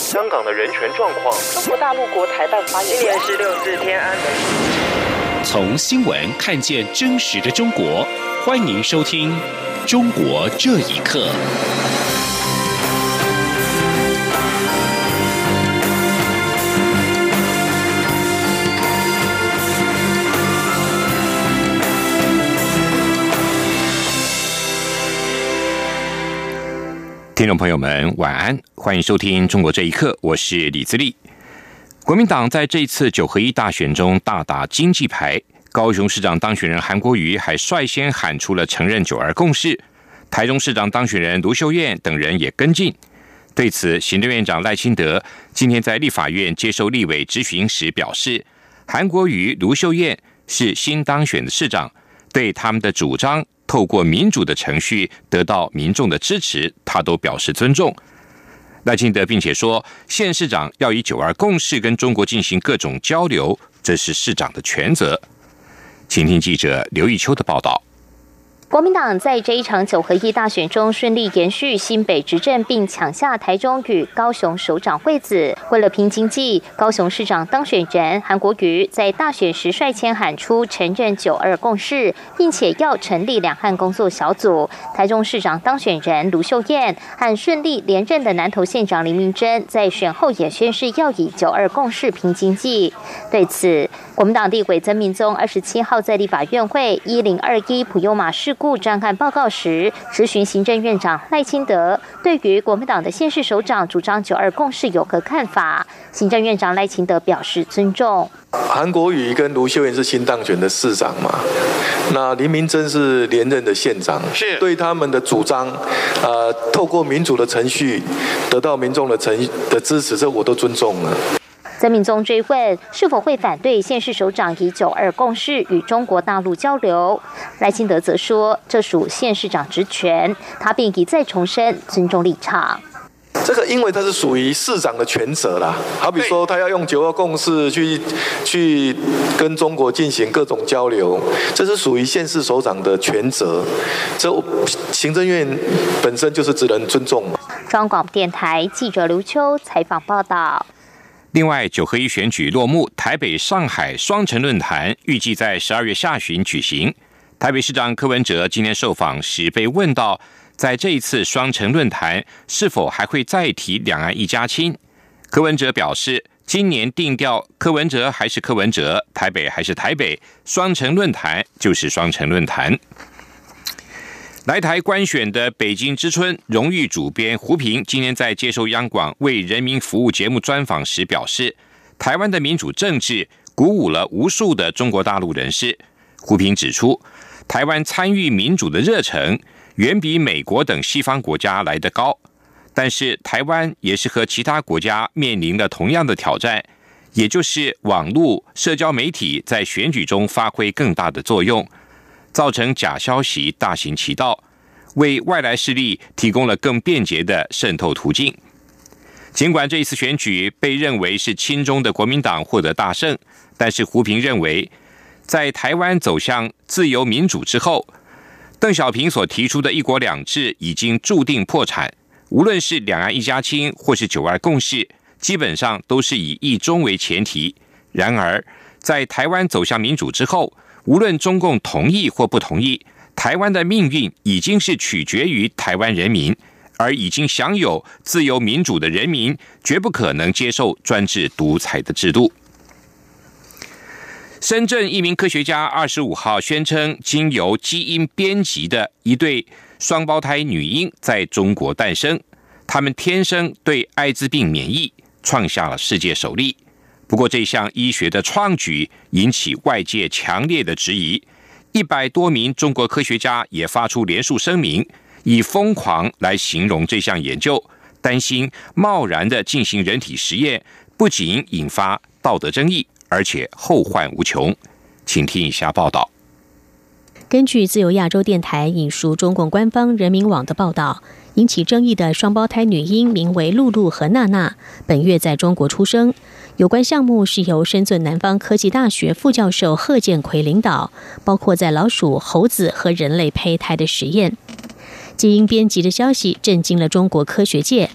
香港的人权状况， 中国大陆国台办发言人， 今年是6四天安门。 从新闻看见真实的中国，欢迎收听《中国这一刻》。听众朋友们，晚安，欢迎收听《中国这一刻》，我是李自立。国民党在这一次9合1大选中大打经济牌，高雄市长当选人韩国瑜还率先喊出了承认9·2共识，台中市长当选人卢秀燕等人也跟进。对此，行政院长赖清德今天在立法院接受立委质询时表示，韩国瑜、卢秀燕是新当选的市长，对他们的主张透过民主的程序得到民众的支持，他都表示尊重。赖清德并且说，县市长要以9·2共识跟中国进行各种交流，这是市长的权责。请听记者刘义秋的报道。 国民党在这一场9合1大选中顺利延续新北执政，并抢下台中与高雄首长位子。为了拼经济，高雄市长当选人韩国瑜在大选时率先喊出承认9·2共识，并且要成立两岸工作小组。台中市长当选人卢秀燕和顺利连任的南投县长林明珍在选后也宣示要以9·2共识拼经济。对此，国民党立委曾明宗27号在立法院会1021普悠玛事故专案报告时，质询行政院长赖清德对于国民党的县市首长主张9·2共识有何看法。行政院长赖清德表示尊重。 韩国瑜跟卢秀燕是新当选的市长嘛，那林明珍是连任的县长，是对他们的主张，透过民主的程序得到民众的支持，这我都尊重了。 曾明宗追问是否会反对县市首长以9·2共识与中国大陆交流，赖清德则说这属县市长职权，他并一再重申尊重立场。 这个因为它是属于市长的权责啦，好比说他要用9·2共识去跟中国进行各种交流，这是属于县市首长的权责，这行政院本身就是只能尊重嘛。 中央广播电台记者刘秋采访报道。 另外，9合1选举落幕，台北、上海双城论坛预计在12月下旬举行。台北市长柯文哲今天受访时被问到，在这一次双城论坛是否还会再提两岸一家亲？柯文哲表示，今年定调柯文哲还是柯文哲，台北还是台北，双城论坛就是双城论坛。来台观选的北京之春荣誉主编胡平今天在接受央广为人民服务节目专访时表示，台湾的民主政治鼓舞了无数的中国大陆人士。胡平指出，台湾参与民主的热忱远比美国等西方国家来得高，但是台湾也是和其他国家面临了同样的挑战，也就是网络社交媒体在选举中发挥更大的作用，造成假消息大行其道，为外来势力提供了更便捷的渗透途径。尽管这一次选举被认为是亲中的国民党获得大胜，但是胡平认为，在台湾走向自由民主之后，邓小平所提出的一国两制已经注定破产，无论是两岸一家亲或是9·2共识，基本上都是以一中为前提。然而，在台湾走向民主之后，无论中共同意或不同意，台湾的命运已经是取决于台湾人民，而已经享有自由民主的人民绝不可能接受专制独裁的制度。深圳一名科学家25号宣称，经由基因编辑的一对双胞胎女婴在中国诞生，她们天生对艾滋病免疫，创下了世界首例。不过这项医学的创举引起外界强烈的质疑，100多名中国科学家也发出联署声明，以疯狂来形容这项研究，担心贸然的进行人体实验不仅引发道德争议，而且后患无穷。请听以下报道。 根据自由亚洲电台引述中共官方人民网的报道，引起争议的双胞胎女婴名为露露和娜娜，本月在中国出生。有关项目是由深圳南方科技大学副教授贺建奎领导，包括在老鼠、猴子和人类胚胎的实验。基因编辑的消息震惊了中国科学界。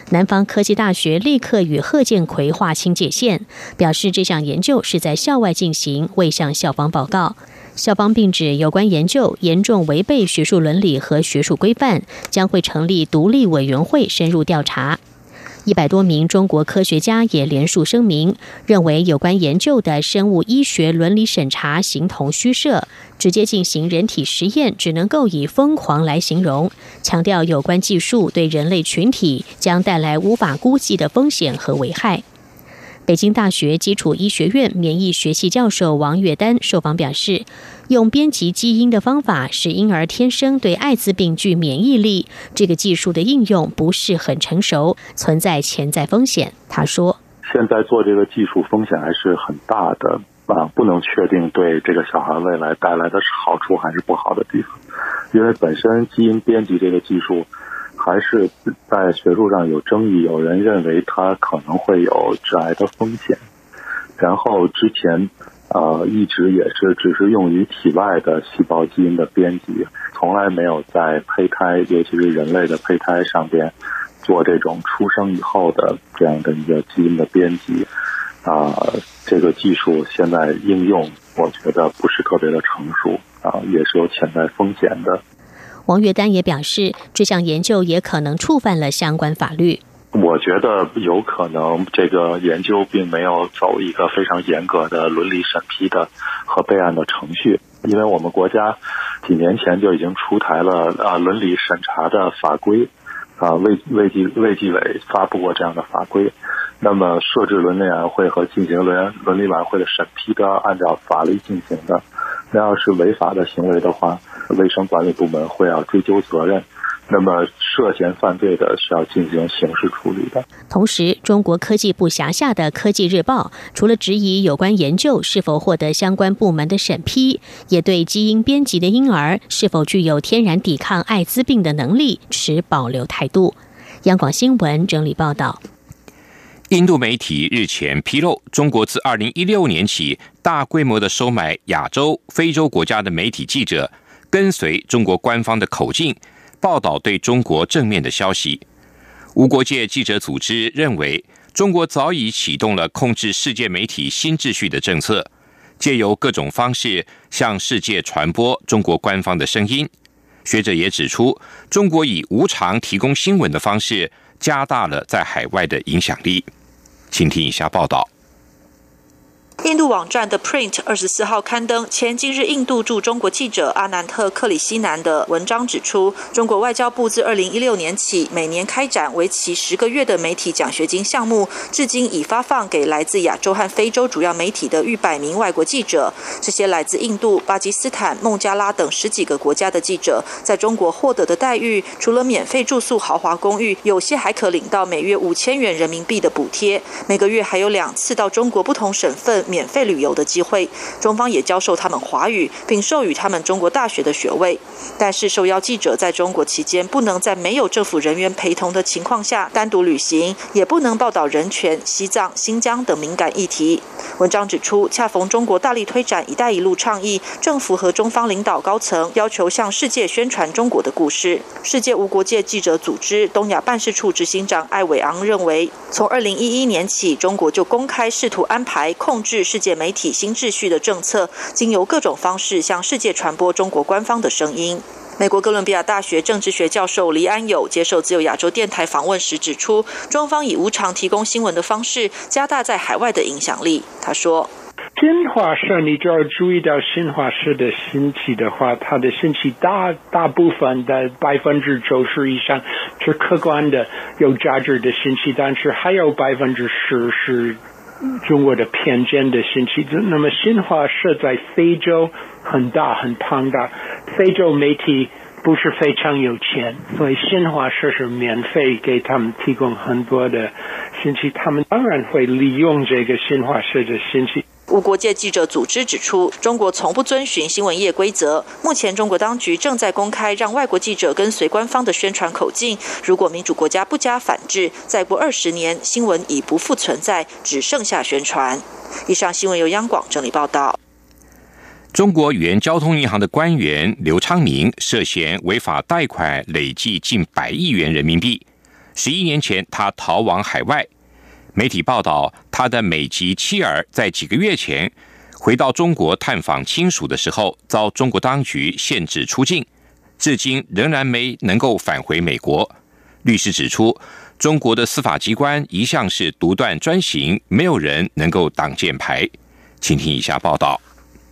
南方科技大学立刻与贺建奎划清界限，表示这项研究是在校外进行，未向校方报告。校方并指有关研究严重违背学术伦理和学术规范，将会成立独立委员会深入调查。100多名中国科学家也联署声明，认为有关研究的生物医学伦理审查形同虚设，直接进行人体实验只能够以疯狂来形容，强调有关技术对人类群体将带来无法估计的风险和危害。北京大学基础医学院免疫学系教授王月丹受访表示，用编辑基因的方法使婴儿天生对艾滋病具免疫力，这个技术的应用不是很成熟，存在潜在风险。他说， 现在做这个技术风险还是很大的不能确定对这个小孩未来带来的是好处还是不好的地方，因为本身基因编辑这个技术还是在学术上有争议，有人认为它可能会有致癌的风险。然后之前一直也是只是用于体外的细胞基因的编辑，从来没有在胚胎，尤其是人类的胚胎上边做这种出生以后的这样的一个基因的编辑。这个技术现在应用，我觉得不是特别的成熟也是有潜在风险的。 王月丹也表示，这项研究也可能触犯了相关法律。 我觉得有可能这个研究并没有走一个非常严格的伦理审批的和备案的程序，因为我们国家几年前就已经出台了伦理审查的法规，卫计委发布过这样的法规。那么设置伦理委员会和进行伦理委员会的审批都要按照法律进行的。那要是违法的行为的话，卫生管理部门会要追究责任，那么涉嫌犯罪的是要进行刑事处理的。 同时，中国科技部辖下的科技日报除了质疑有关研究是否获得相关部门的审批，也对基因编辑的婴儿是否具有天然抵抗艾滋病的能力持保留态度。央广新闻整理报道。 印度媒体日前披露，中国自2016年起大规模的收买亚洲、非洲国家的媒体记者，跟随中国官方的口径，报道对中国正面的消息。无国界记者组织认为，中国早已启动了控制世界媒体新秩序的政策，借由各种方式向世界传播中国官方的声音。学者也指出，中国以无偿提供新闻的方式，加大了在海外的影响力。请听以下报道。 印度网站的 Print 24号刊登前今日印度驻中国记者阿南特·克里希南的文章，指出中国外交部自2016年起每年开展为期10个月的媒体奖学金项目，至今已发放给来自亚洲和非洲主要媒体的逾100名外国记者。这些来自印度、巴基斯坦、孟加拉等10几个国家的记者在中国获得的待遇，除了免费住宿豪华公寓，有些还可领到每月5000元人民币的补贴，每个月还有2次到中国不同省份免费旅游的机会。中方也教授他们华语，并授予他们中国大学的学位。但是受邀记者在中国期间不能在没有政府人员陪同的情况下单独旅行，也不能报道人权、西藏、新疆等敏感议题。文章指出，恰逢中国大力推展一带一路倡议，政府和中方领导高层要求向世界宣传中国的故事。世界无国界记者组织东亚办事处执行长艾伟昂认为，从2011年起，中国就公开试图安排控制世界媒体新秩序的政策，经由各种方式向世界传播中国官方的声音。美国哥伦比亚大学政治学教授黎安友接受自由亚洲电台访问时指出，中方以无偿提供新闻的方式加大在海外的影响力。他说， 新华社你就要注意到，新华社的信息的话，它的信息大部分的90%以上是客观的有价值的信息，但是还有10%是中国的偏见的信息。那么新华社在非洲很大很庞大，非洲媒体不是非常有钱，所以新华社是免费给他们提供很多的信息，他们当然会利用这个新华社的信息。 无国界记者组织指出，中国从不遵循新闻业规则。目前中国当局正在公开让外国记者跟随官方的宣传口径，如果民主国家不加反制，再过20年，新闻已不复存在，只剩下宣传。以上新闻由央广整理报道。 中国原交通银行的官员刘昌明涉嫌违法贷款累计近100亿元人民币。 11年前他逃往海外。媒体报道，他的美籍妻儿在几个月前回到中国探访亲属的时候，遭中国当局限制出境，至今仍然没能够返回美国。律师指出，中国的司法机关一向是独断专行，没有人能够挡箭牌。请听以下报道。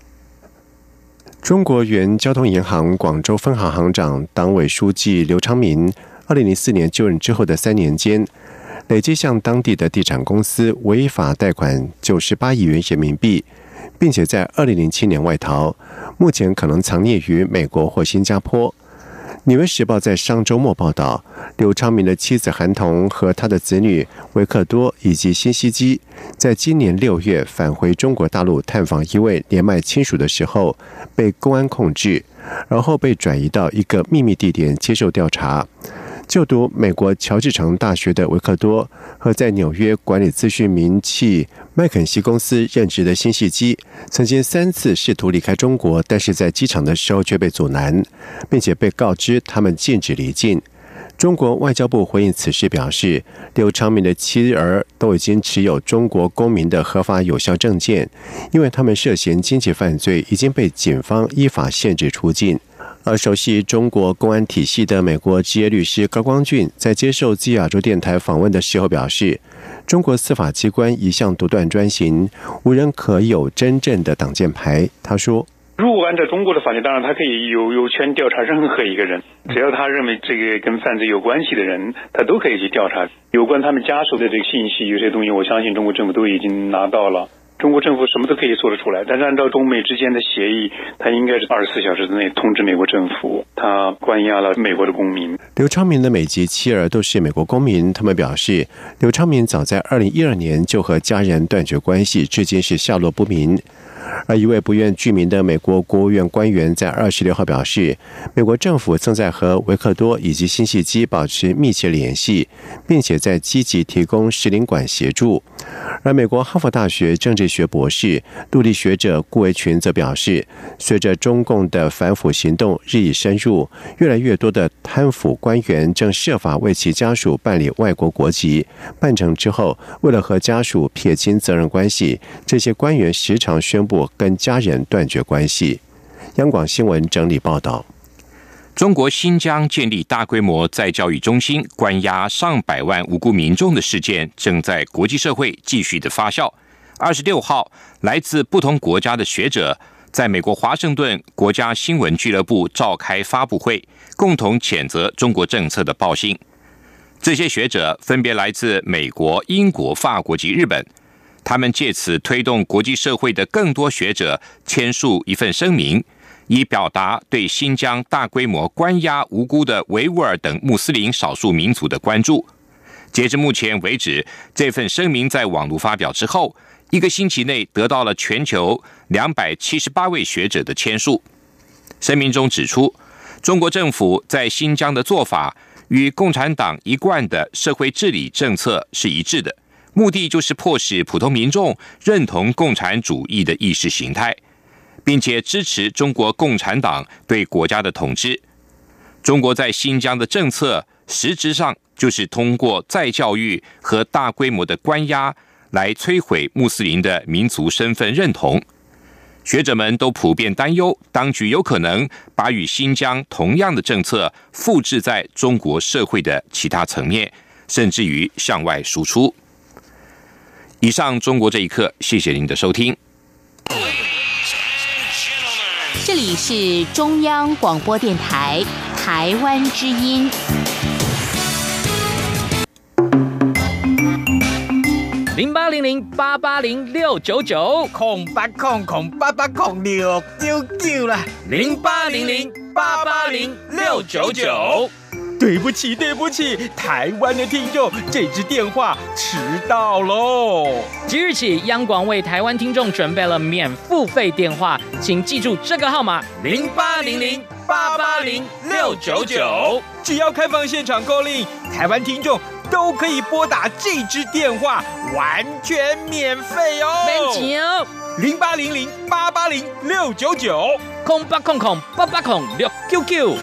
中国原交通银行广州分行行长、党委书记刘昌民2004年就任之后的3年间，累计向当地的地产公司违法贷款98亿元人民币，并且在2007年外逃，目前可能藏匿于美国或新加坡。纽约时报在上周末报道，刘昌民的妻子韩童和他的子女维克多以及辛熙基，在今年6月返回中国大陆探访一位年迈亲属的时候，被公安控制，然后被转移到一个秘密地点接受调查。就读美国乔治城大学的维克多和在纽约管理资讯名气麦肯锡公司任职的辛熙基，曾经3次试图离开中国，但是在机场的时候却被阻拦，并且被告知他们禁止离境。中国外交部回应此事表示，刘昌民的妻儿都已经持有中国公民的合法有效证件，因为他们涉嫌经济犯罪，已经被警方依法限制出境。而熟悉中国公安体系的美国职业律师高光俊在接受自由亚洲电台访问的时候表示，中国司法机关一向独断专行，无人可有真正的挡箭牌。他说， 如果按照中国的法律，当然他可以有权调查任何一个人，只要他认为这个跟犯罪有关系的人，他都可以去调查。有关他们家属的这个信息，有些东西我相信中国政府都已经拿到了。中国政府什么都可以做得出来，但是按照中美之间的协议，他应该是24小时之内通知美国政府，他关押了美国的公民。 刘昌民的美籍妻儿都是美国公民，他们表示，刘昌民早在2012年就和家人断绝关系，至今是下落不明。而一位不愿具名的美国国务院官员在26号表示，美国政府正在和维克多以及辛熙基保持密切联系，并且在积极提供使领馆协助。而美国哈佛大学政治学博士、陆地学者顾维群则表示，随着中共的反腐行动日益深入，越来越多的贪腐官员正设法为其家属办理外国国籍，办成之后，为了和家属撇清责任关系，这些官员时常宣布跟家人断绝关系。央广新闻整理报道。 中国新疆建立大规模再教育中心，关押上百万无辜民众的事件正在国际社会继续的发酵。26号，来自不同国家的学者在美国华盛顿国家新闻俱乐部召开发布会，共同谴责中国政策的暴行。这些学者分别来自美国、英国、法国及日本，他们借此推动国际社会的更多学者签署一份声明，以表达对新疆大规模关押无辜的维吾尔等穆斯林少数民族的关注。截至目前为止，这份声明在网络发表之后，1个星期内得到了全球278位学者的签署。声明中指出，中国政府在新疆的做法与共产党一贯的社会治理政策是一致的，目的就是迫使普通民众认同共产主义的意识形态，并且支持中国共产党对国家的统治。中国在新疆的政策实质上就是通过再教育和大规模的关押来摧毁穆斯林的民族身份认同。学者们都普遍担忧，当局有可能把与新疆同样的政策复制在中国社会的其他层面，甚至于向外输出。以上中国这一刻，谢谢您的收听。 这里是中央广播电台台湾之音。 0800880699，0800880699啦，0800880699。对不起，台湾的听众，这支电话迟到喽。 即日起，央广为台湾听众准备了免付费电话，请记住这个号码 ：0800880699。只要开放现场call in，台湾听众都可以拨打这支电话，完全免费哦。 免钱哦。 0800880699，0800880699。